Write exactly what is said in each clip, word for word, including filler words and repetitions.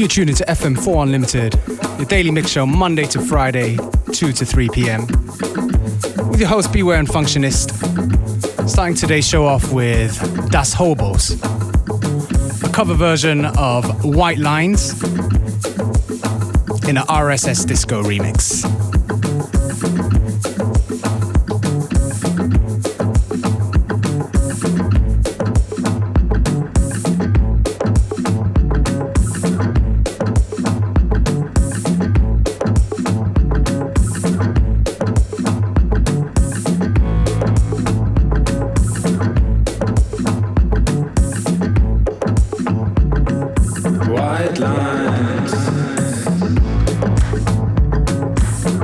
You're tuned into F M four Unlimited, your daily mix show Monday to Friday, two to three p.m. with your host Beware and Functionist. Starting today's show off with Das Hobos, a cover version of White Lines in an R S S Disco remix. White lines.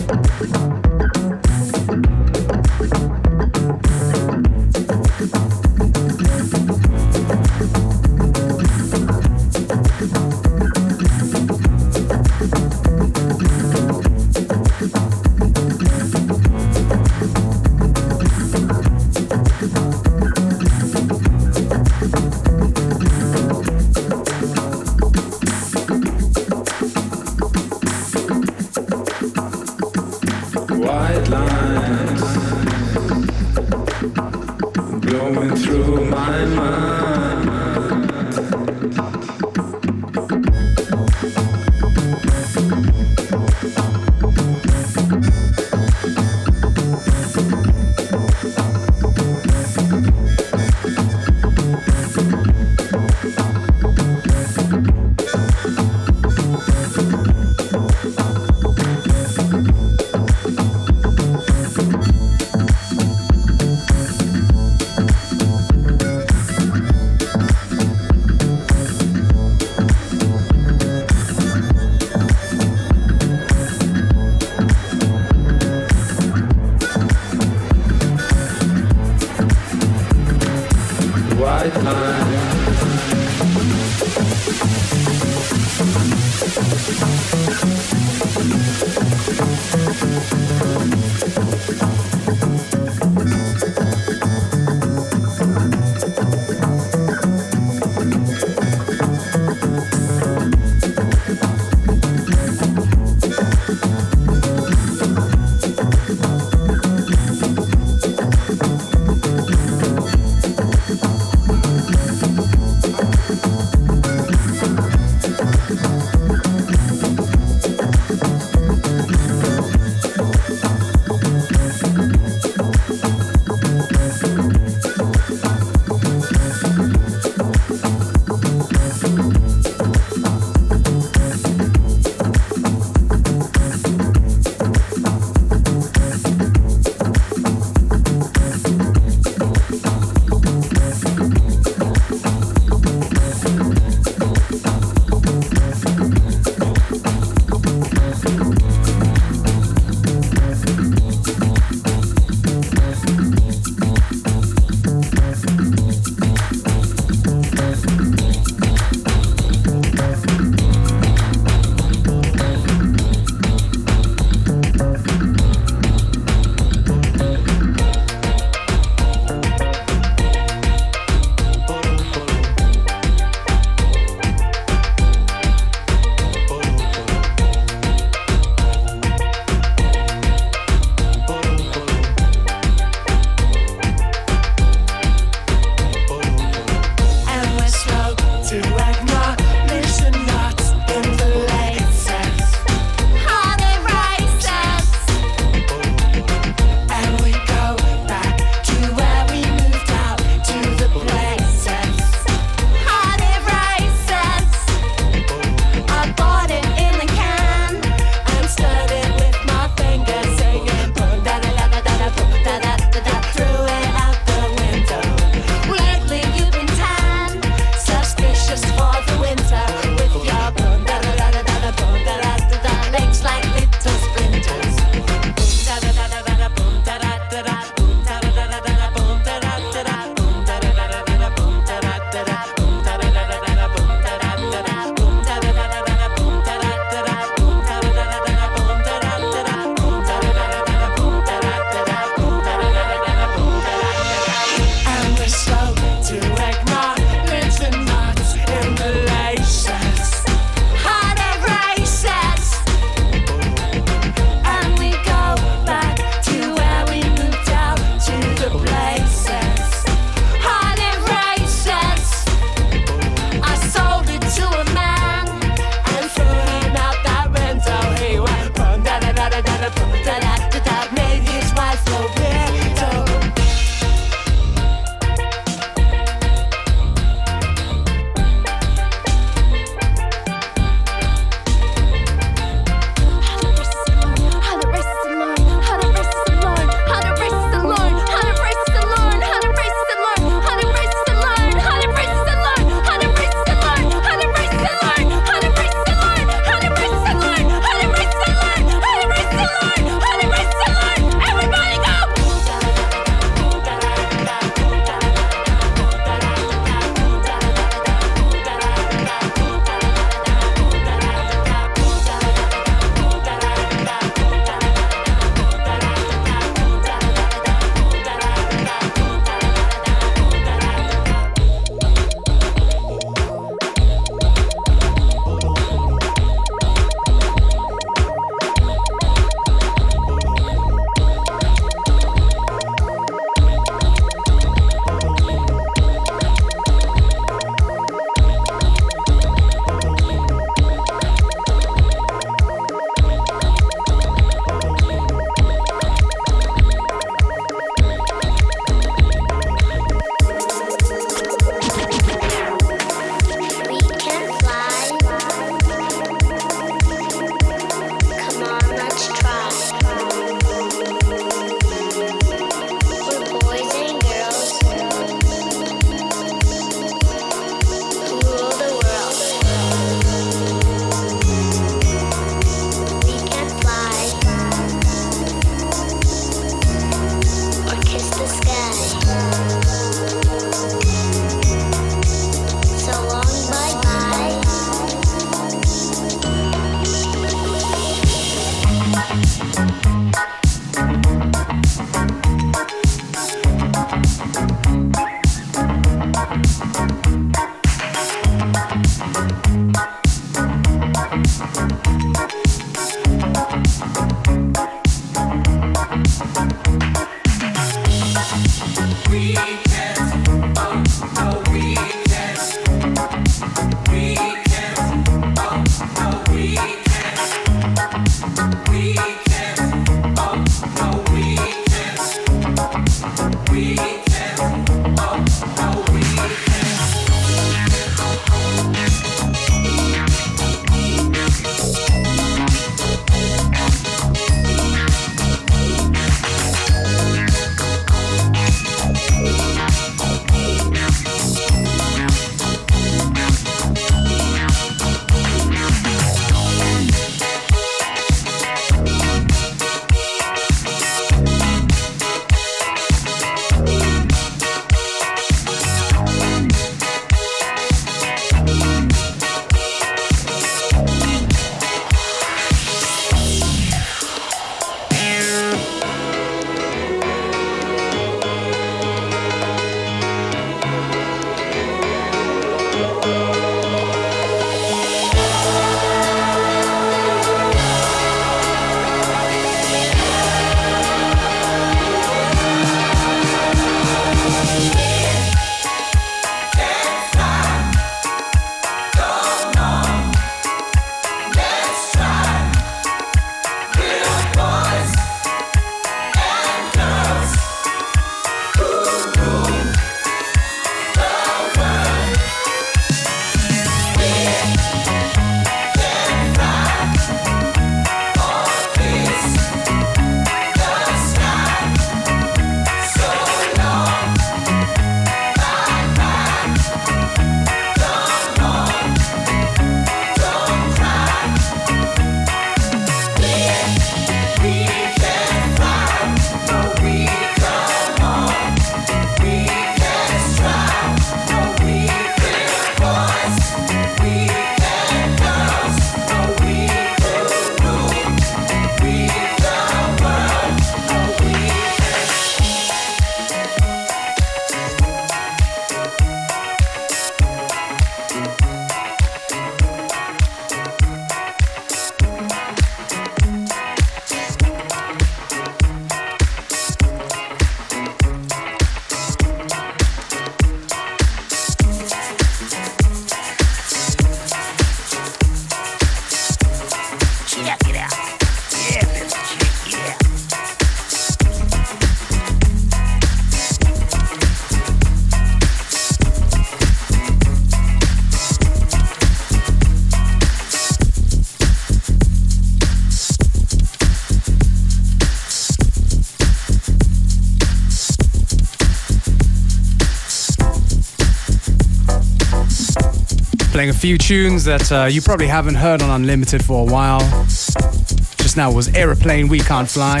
Playing a few tunes that uh, you probably haven't heard on Unlimited for a while. Just now was Aeroplane, We Can't Fly.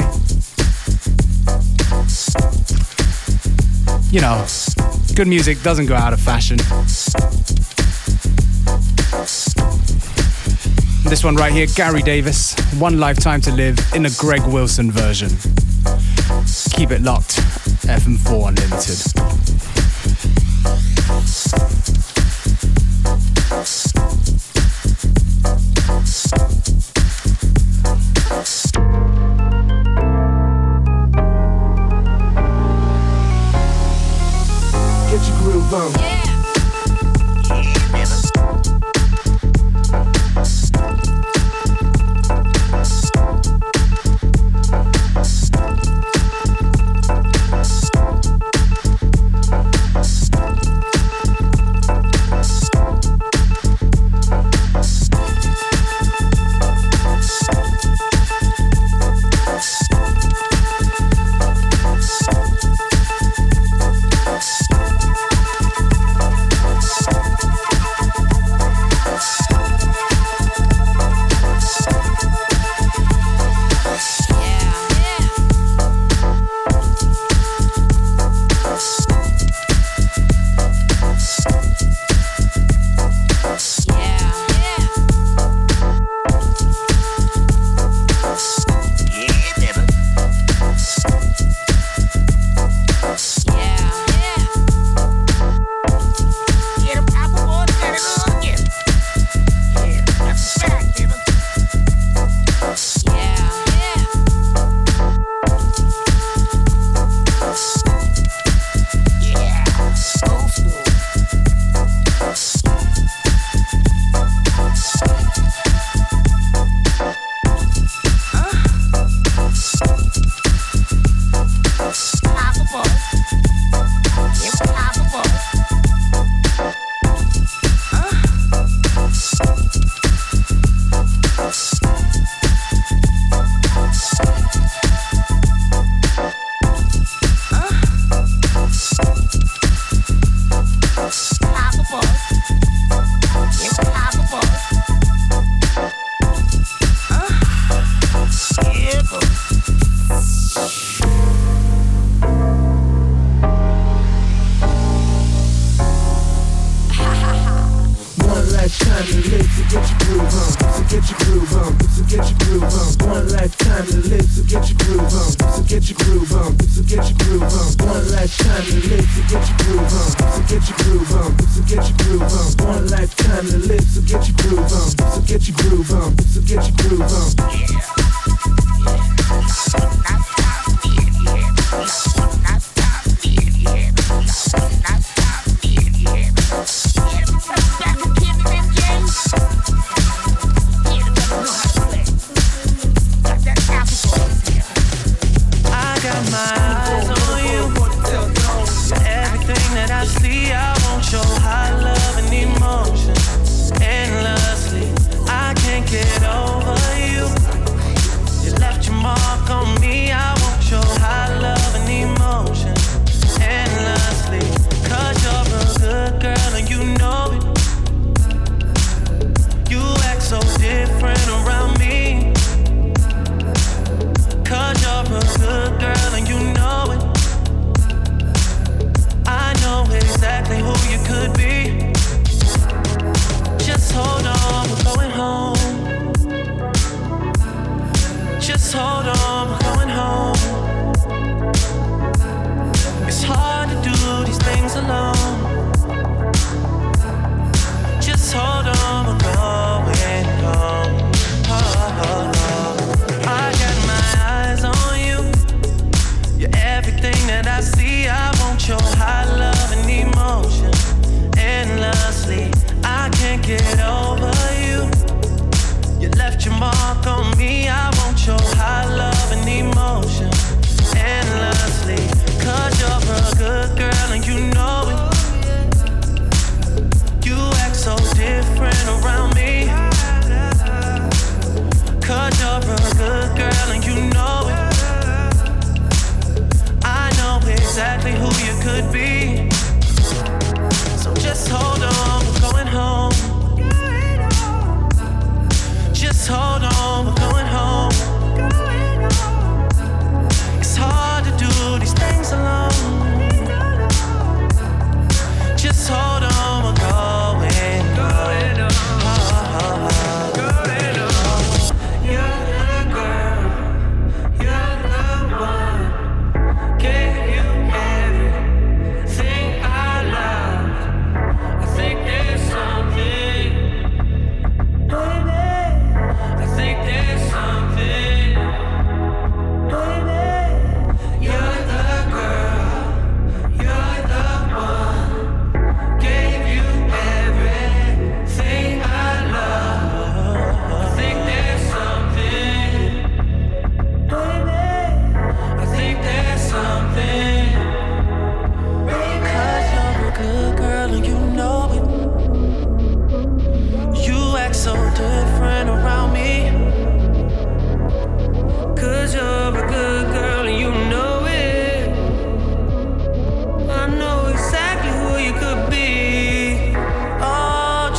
You know, good music doesn't go out of fashion. This one right here, Gary Davis, One Lifetime to Live in a Greg Wilson version. Keep it locked, F M four Unlimited. Get your groove on. Yeah.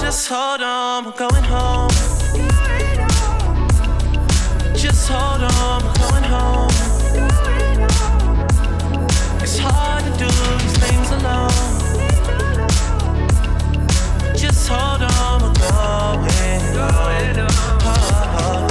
Just hold on, we're going home. Just hold on, we're going home. It's hard to do these things alone. Just hold on, we're going home. Oh, oh, oh.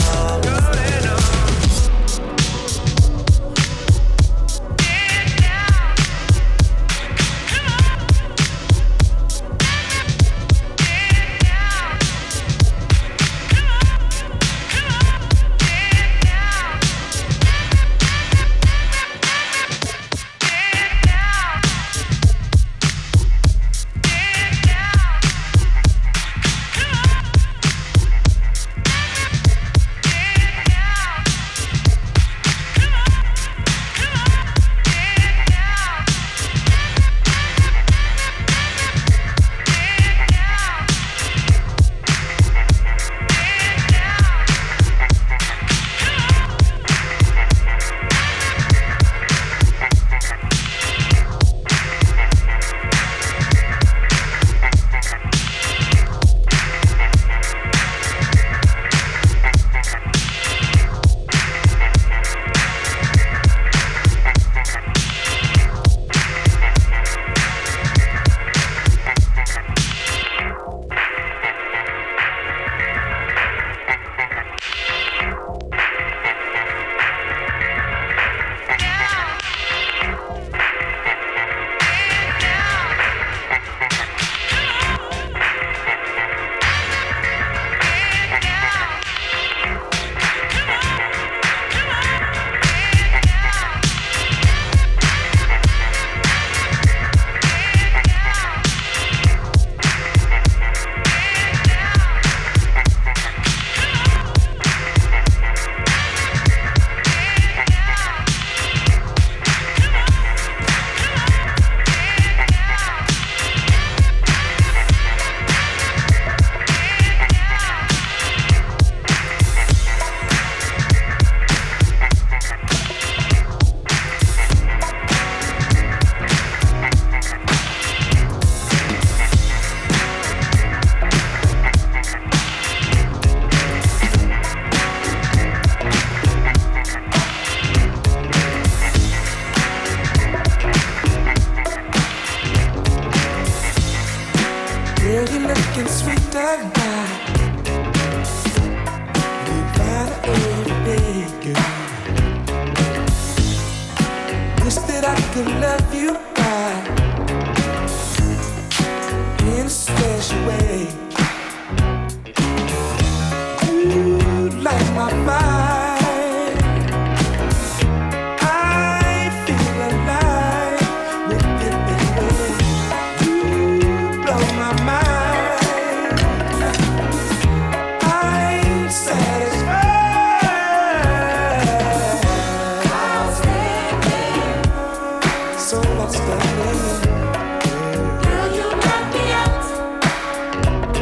So what's the name? Girl, you knock me out.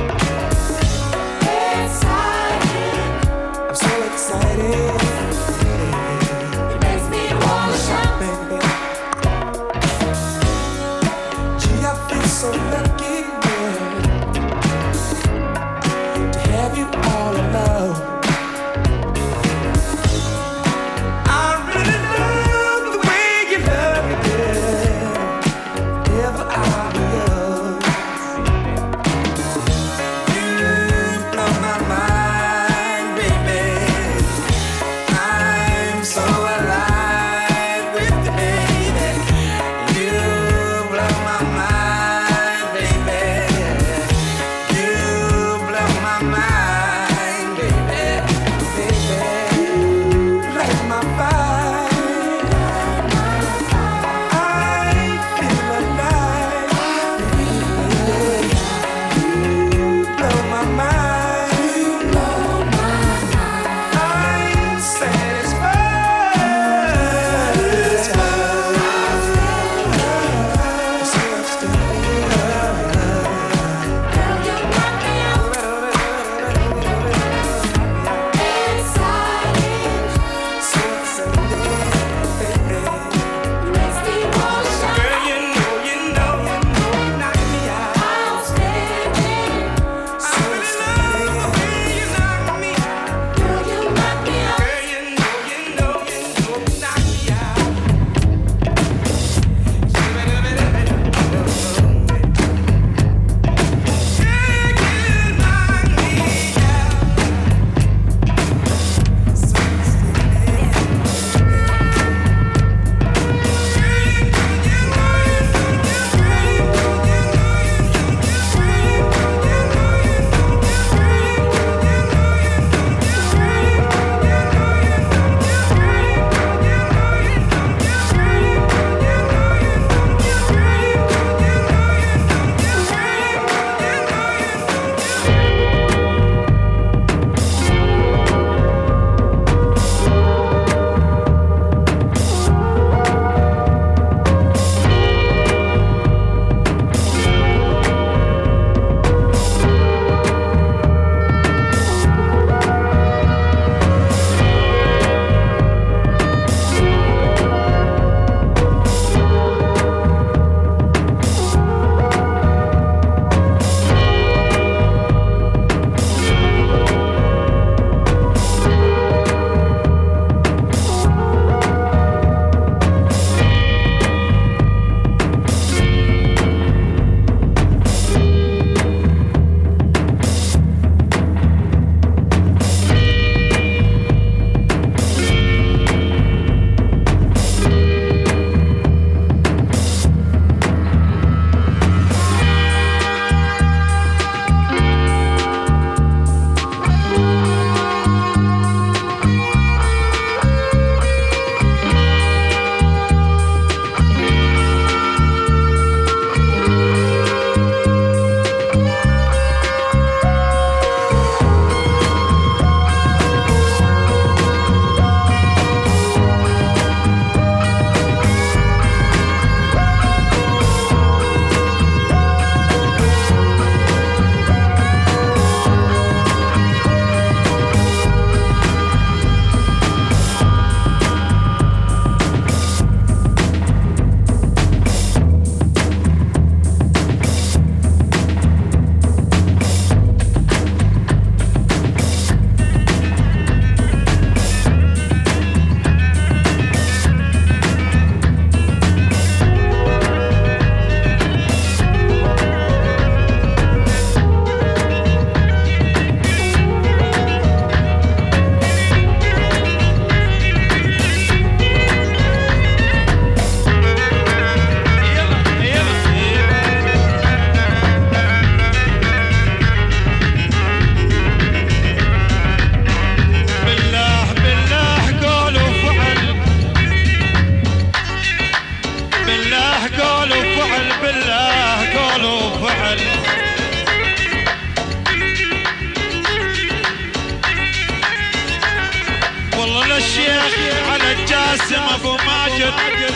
جاسم ابو ماجد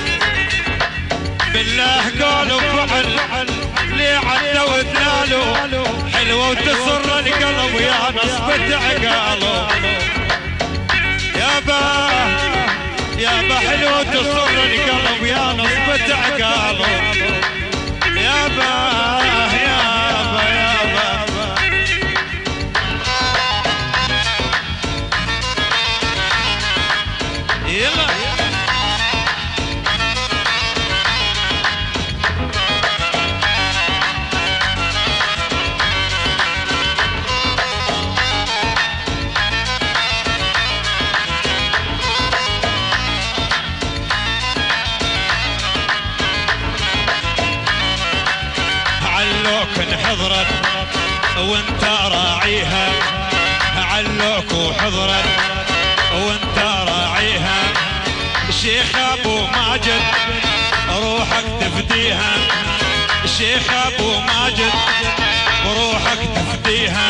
بالله قول وفعل لي عدى ودلالو حلوة وتسر القلب يا نصبة عقاله يابا يابا حلوة وتسر القلب يا نصبة عقاله يابا يابا يابا يلا حضرت وانت راعيها علوك وحضرت وانت راعيها شيخ ابو ماجد روحك تفديها شيخ ابو ماجد روحك تفديها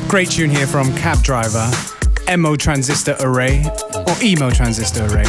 Great tune here from Cab Driver, M O Transistor Array, or Emo Transistor Array.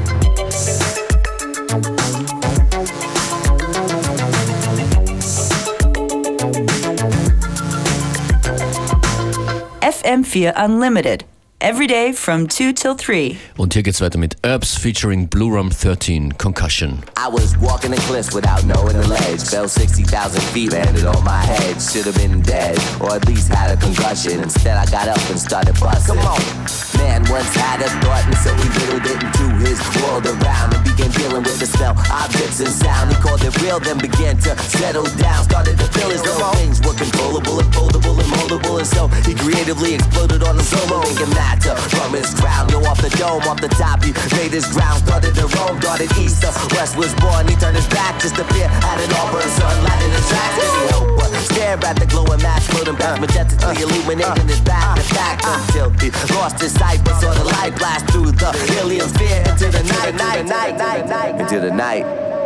F M vier Unlimited. Every day from two till three. Und hier geht's weiter mit Herbs featuring Blue Rum thirteen, Concussion. I was walking the cliffs without knowing the ledge. Fell sixty thousand feet, landed on my head. Should have been dead, or at least had a concussion. Instead I got up and started busting. Come on. Man once had a thought, and so he whittled it into his world around and began dealing with the smell, objects and sound. He called it real, then began to settle down. Started to feel as though things were controllable and foldable and moldable, and so he creatively exploded on the solo, making matter from his crown. Yo, off the dome, off the top, he made his ground. Started to roam, darted east, the west was born. He turned his back just to appear at an auburn sunlight in his tracks. Did he hope but stare at the glowing match, floating back, majestically illuminating his back to back until he lost his sight, but saw the light blast through the helium sphere into the night, night, night, night, night, into the night.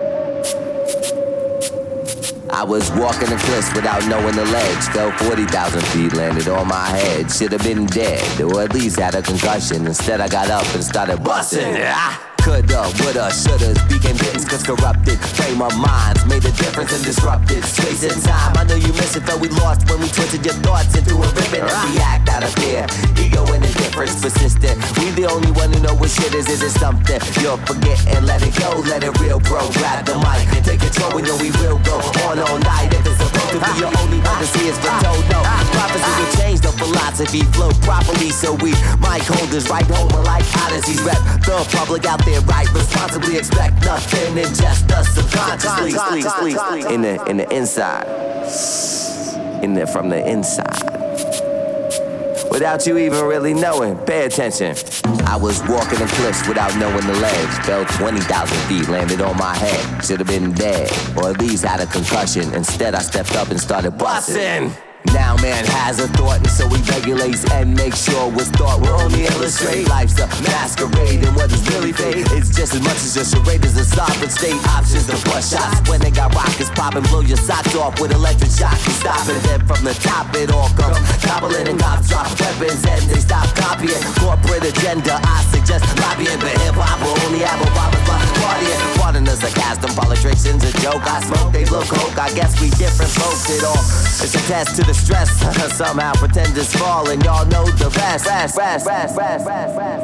I was walking the cliffs without knowing the ledge. Fell forty thousand feet, landed on my head. Should have been dead, or at least had a concussion. Instead I got up and started busting. Ah! Coulda, woulda, shouldas became kittens, cause corrupted frame of minds made a difference and disrupted space and time. I know you miss it, felt we lost when we twisted your thoughts into a ribbon and react out of fear. Ego and indifference persistent. We the only one who know what shit is. Is it something you'll forget and let it go? Let it real, bro. Grab the mic and take control. We know we will go on all night. If it's supposed to be your only one to see us for told, no. Prophecy will change the philosophy, flow properly, so we mic holders right home like odysseys. Rep the public out there. Right, responsibly expect nothing and just us subconsciously sleep, sleep, sleep. In the in the inside, in there from the inside, without you even really knowing. Pay attention. I was walking the cliffs without knowing the ledge. Fell twenty thousand feet, landed on my head. Should have been dead, or at least had a concussion. Instead, I stepped up and started busting. Now man has a thought, and so he regulates and makes sure what's thought will only illustrate. Life's a masquerade, and what is really fate, it's just as much as a charade as a sovereign state. Options to bust shots when they got rockets popping, blow your socks off with electric shock. You stop it, then from the top it all comes gobbling, and cops drop weapons and they stop copying. Corporate agenda, I suggest lobbying, but hip hop will only have a Obama's partying. Pardon the sarcasm, politicians a joke. I smoke, they look hoke. I guess we different folks. It all it's a test to the stress. Somehow pretenders fall and y'all know the rest. rest, rest, rest, rest, rest, rest,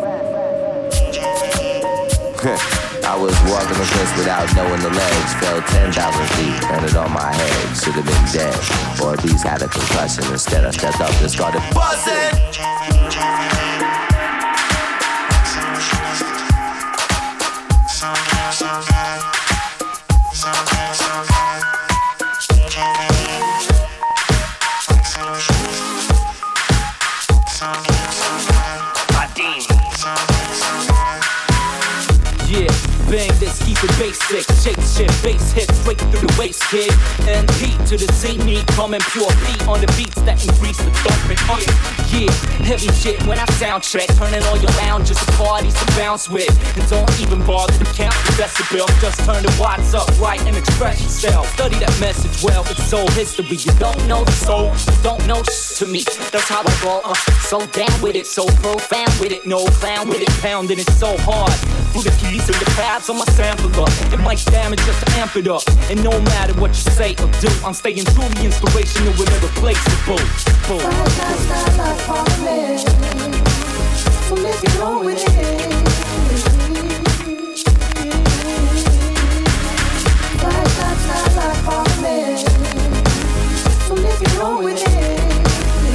rest. I was walking the cliffs without knowing the ledge. Fell ten thousand feet, landed on my head. Should have been dead, or at least had a concussion. Instead I stepped up and started busting. Bang this, keep it basic. Shake shit, bass hit straight through the waist, kid. And P to the Z, me coming pure beat on the beats that increase the thumping. Uh, yeah, heavy shit when I sound check. Turning all your lounges to parties to bounce with. And don't even bother to count the decibel. Just turn the watts up right and express yourself. Study that message well, it's soul history. You don't know the soul, you don't know shit to me. That's how I roll, uh, so down with it, so profound with it. No clown with it, pounding it so hard. Through the keys and the pads on my sampler. It might damage just to amp it up. And no matter what you say or do, I'm staying truly inspirational with irreplaceable. Boom. So let's get on with it. Five shots, not like Parliament. So let's get on with it.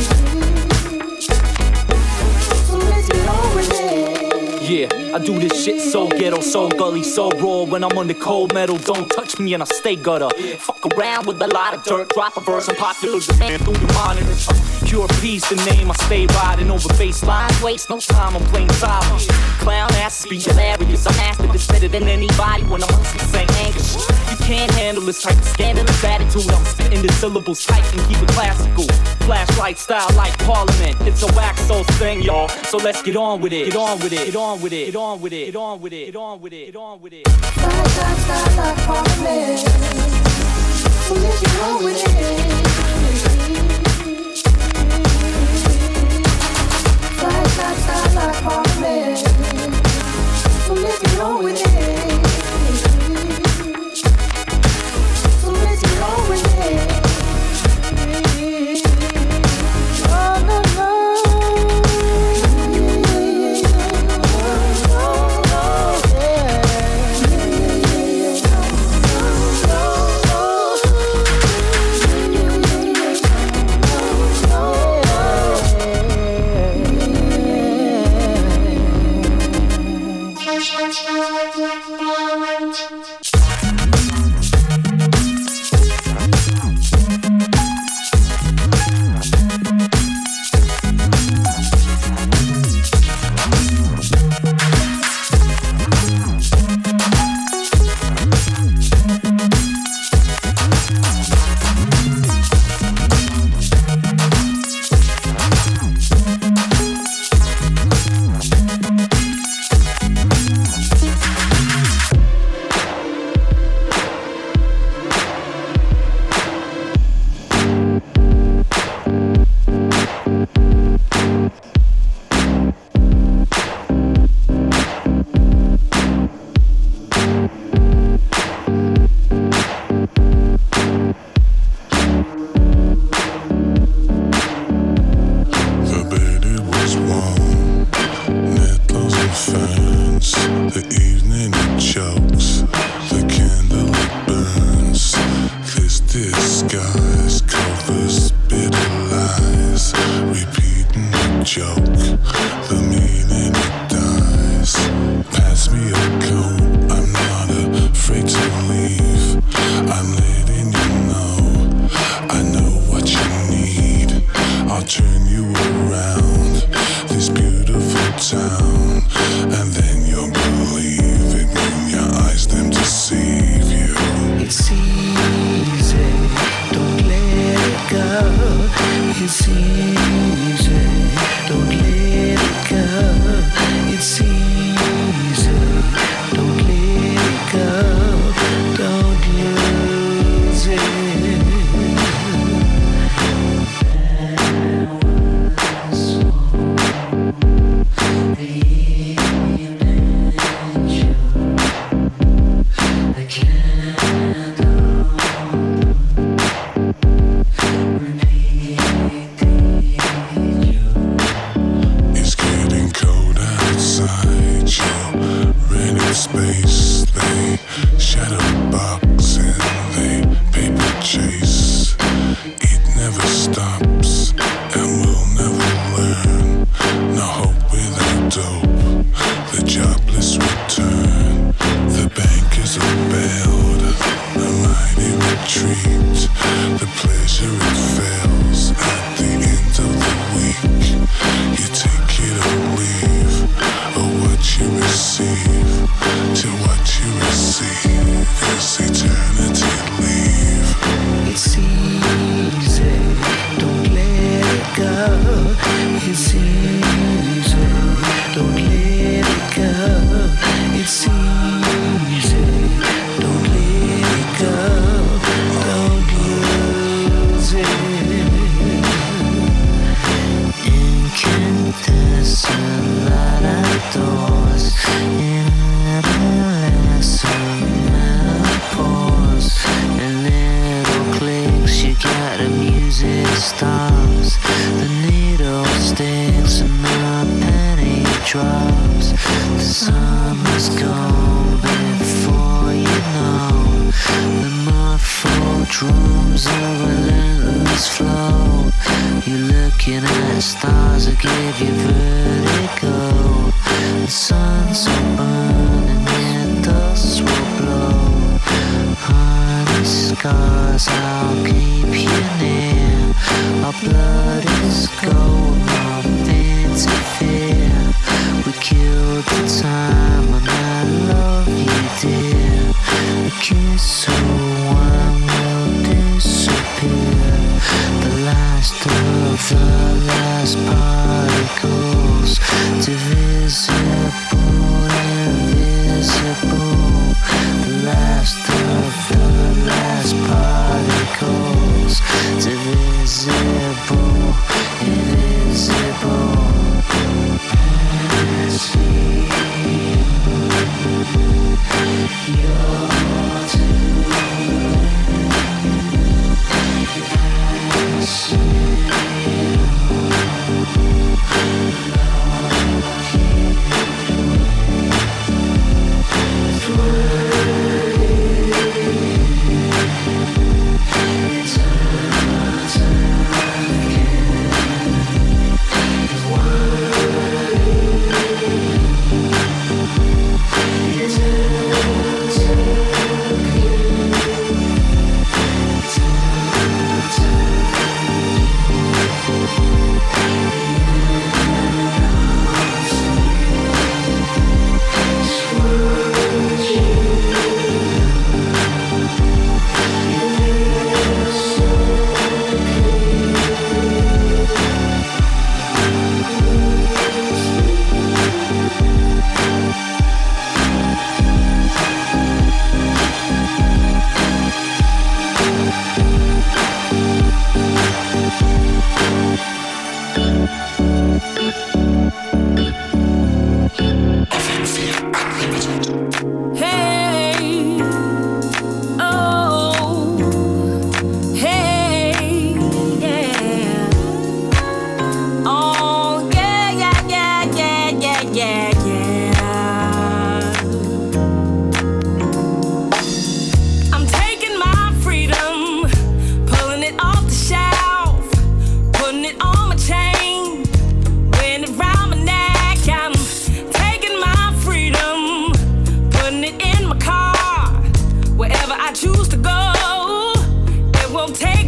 So let's get on with it. Yeah, I do this shit so ghetto, so gully, so raw. When I'm on the cold metal, don't touch me and I stay gutter. Fuck around with a lot of dirt, drop a verse and popular demand through the monitors. Pure peace, the name I stay riding over baseline. Waste no time, I'm playing silence. Clown asses be hilarious. I'm after this better than anybody when I'm on some same anger. You can't handle this type of scandalous attitude. I'm spitting the syllables tight and keep it classical. Flashlight style like Parliament. It's a wax soul thing, y'all. So let's get on with it. Get on with it. Get on with it. Get on with it. Get on with it. Get on with it. Get on with it. Flashlight style like Parliament. So let's get on with it. disguise covers bitter lies, repeating the joke, the meaning it dies. Pass me a coat, I'm not afraid to leave. I'm letting you know, I know what you need. I'll turn you around this beautiful town, and then you'll believe it when your eyes them deceive you. It's easy, don't let it go. It's easy, don't let it go. It's easy, don't let it go. Don't lose it. Space, they shadow box and they paper chase. It never stops and we'll never learn. No hope without dope, the jobless return. The bankers are bailed, the mighty retreat. The pleasure it fails at the end of the week. You take it or leave, or what you receive. To what you receive is eternity leave. It's easy, don't let it go. It's easy, don't let it go. It's easy, don't let it go. Don't lose it. Incandescent light outdoors. Stops, the needle sticks and the penny drops. The summer's gone before you know. The muffled drums of relentless flow. You're looking at stars that give you vertigo. The sun's will burn and the dust will blow. Honey scars, I'll keep you near. Our blood is gold, nothing to fear. We killed the time and I love you, dear. A kiss or one will disappear. The last of the last particles, divisible, invisible. The last of the last particles, divisible, invisible. You're too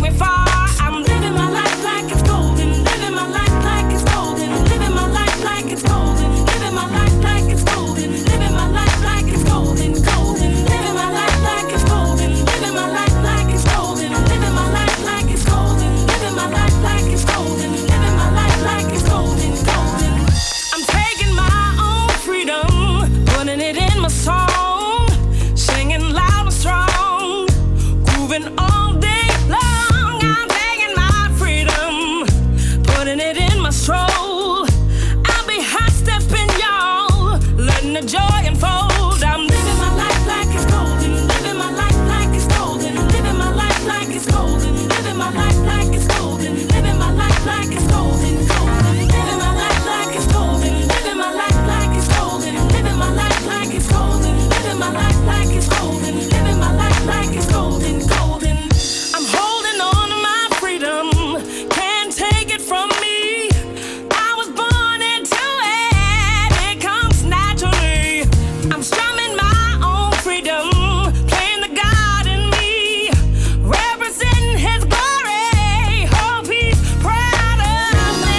me far. I'm living my life like it's golden, living my life like it's golden, living my life like it's golden, living my life like it's golden, living my life like it's golden, golden, living my life like it's golden, living my life like it's golden, living my life like it's golden, living my life like it's golden, living my life like it's golden, golden. I'm taking my own freedom, putting it in my song, singing loud and strong, grooving all day long. I'm taking my freedom, putting it in my stroll. I'll be hot stepping, y'all, letting the joy unfold. I'm living my life like it's golden, living my life like it's golden, living my life like it's golden, living my life like it's golden, living my life like it's golden, golden, living my life like it's golden, living my life like it's golden, living my life like it's golden, living my life like it's golden, living my life like it's golden, golden. I'm holding on to my freedom, can't take it from me. I was born into it, it comes naturally. I'm strumming my own freedom, playing the God in me, representing His glory. Hope He's proud of me.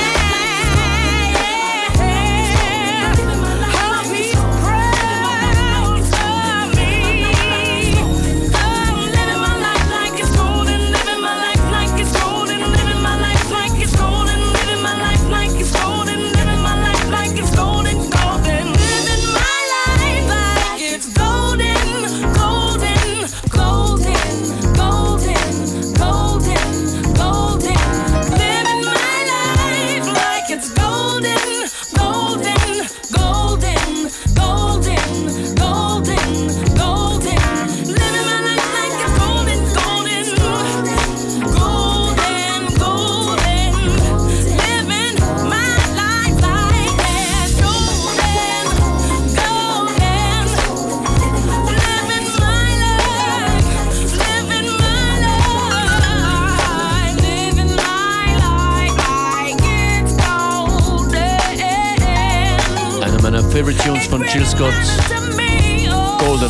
Hope He's proud of me. I'm living my life like it's golden, living my life like it's golden, living my life like it's golden, living my life like it's golden, living my life like it's golden, golden, living my life like it's golden, golden, golden, golden, golden, golden, living my life like it's golden, golden, golden, golden, golden, golden, living my life like it's golden, golden, golden, golden, living my life like it's golden, golden, living my life, living my life, living my life like it's golden. Einer meiner Favorite Tunes von Jill Scott, To me, oh. Golden.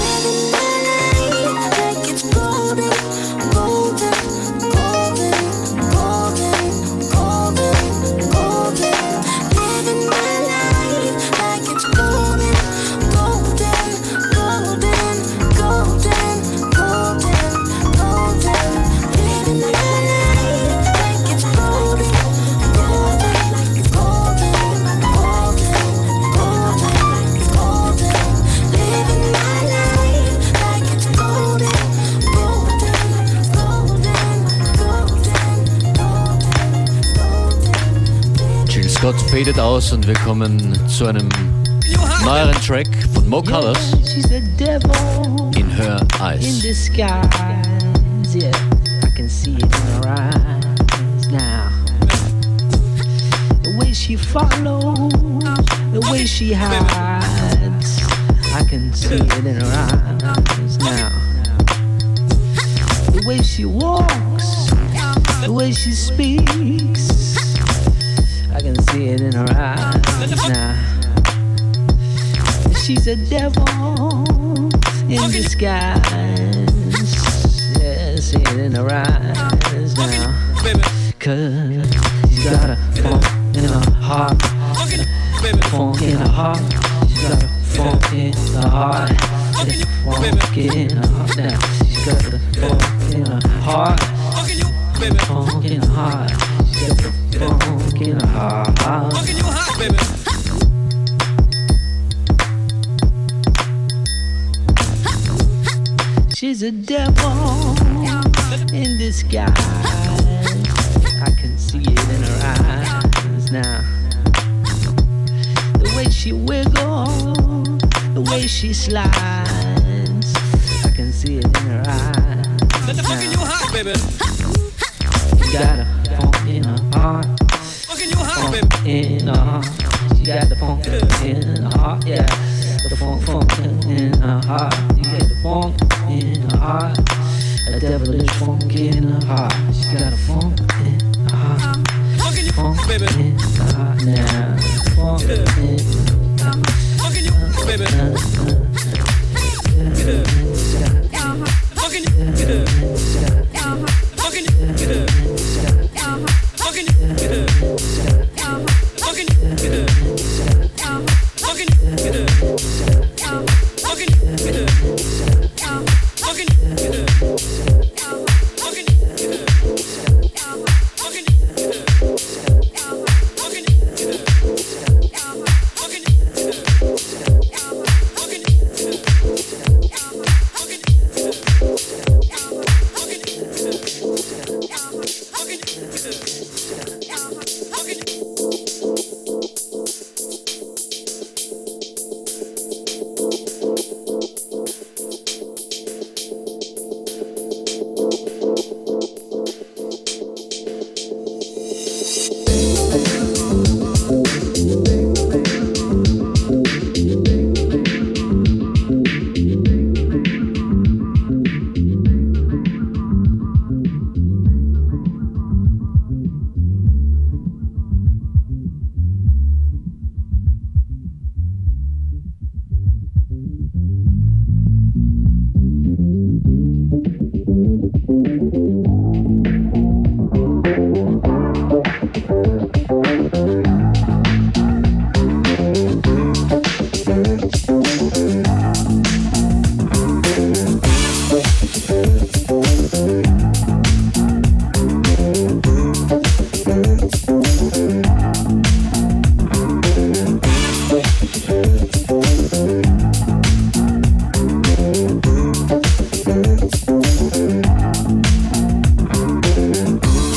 Like it's golden, golden, golden, golden, golden, golden. Living my life like it's golden, golden, golden, golden, golden, golden. Living my life like it's golden, golden, golden, golden, golden, golden. Living my life like it's golden, golden, golden, golden, golden. Jill Scott fadet aus und wir kommen zu einem neueren Track von Mo Colors, She's the devil In Her in Eyes. disguise. Yeah, I can see it in her eyes now. The way she follows, the way she hides, I can see it in her eyes now. The way she walks, the way she speaks, I can see it in her eyes now. She's a devil in disguise. Yeah, see it in her eyes now. Cause she's got a funk in her heart. Funk in her heart. She's got a funk in her heart. Yeah, funk in her heart now. She's got the funk in her heart. Funk in her heart. She's got the funk in her heart. She's a devil in disguise. I can see it in her eyes now. The way she wiggles, the way she slides, I can see it in her eyes now. Got a funk in her heart. Funk in her heart. She got the funk in her heart, yeah. The funk, funk in her heart. You get the funk in her heart. A devilish funk in her heart. She got a funk in her heart. Funk in her heart now. Funk in her heart.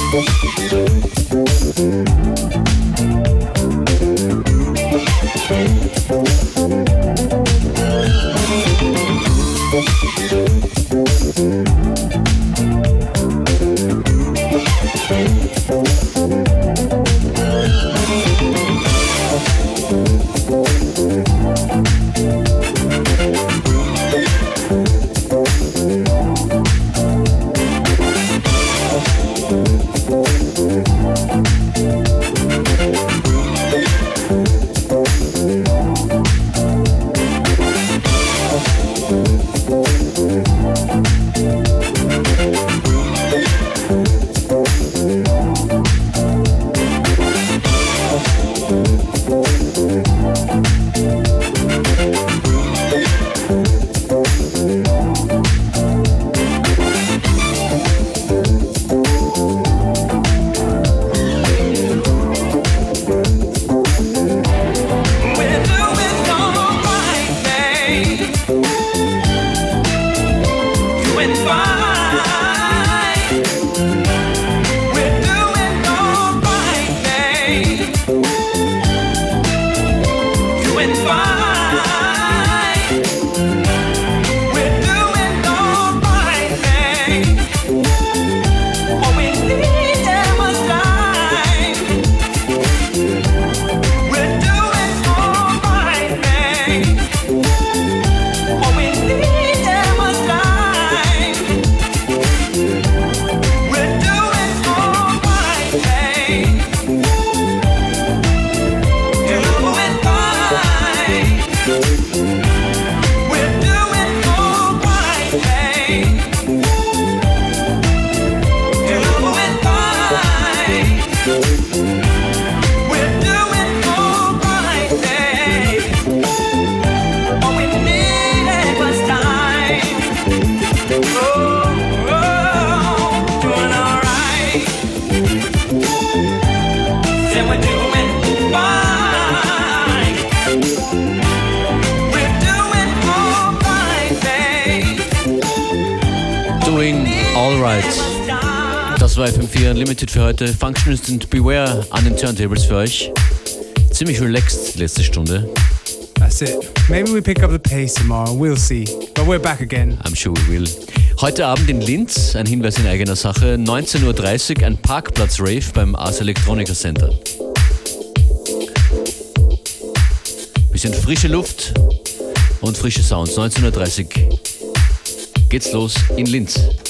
Das war F M vier Unlimited für heute. Functionist und Beware an den Turntables für euch. Ziemlich relaxed die letzte Stunde. That's it. Maybe we pick up the pace tomorrow. We'll see. But we're back again. I'm sure we will. Heute Abend in Linz, ein Hinweis in eigener Sache, neunzehn Uhr dreißig, ein Parkplatz-Rave beim Ars Electronica Center. Bisschen frische Luft und frische Sounds. neunzehn Uhr dreißig geht's los in Linz.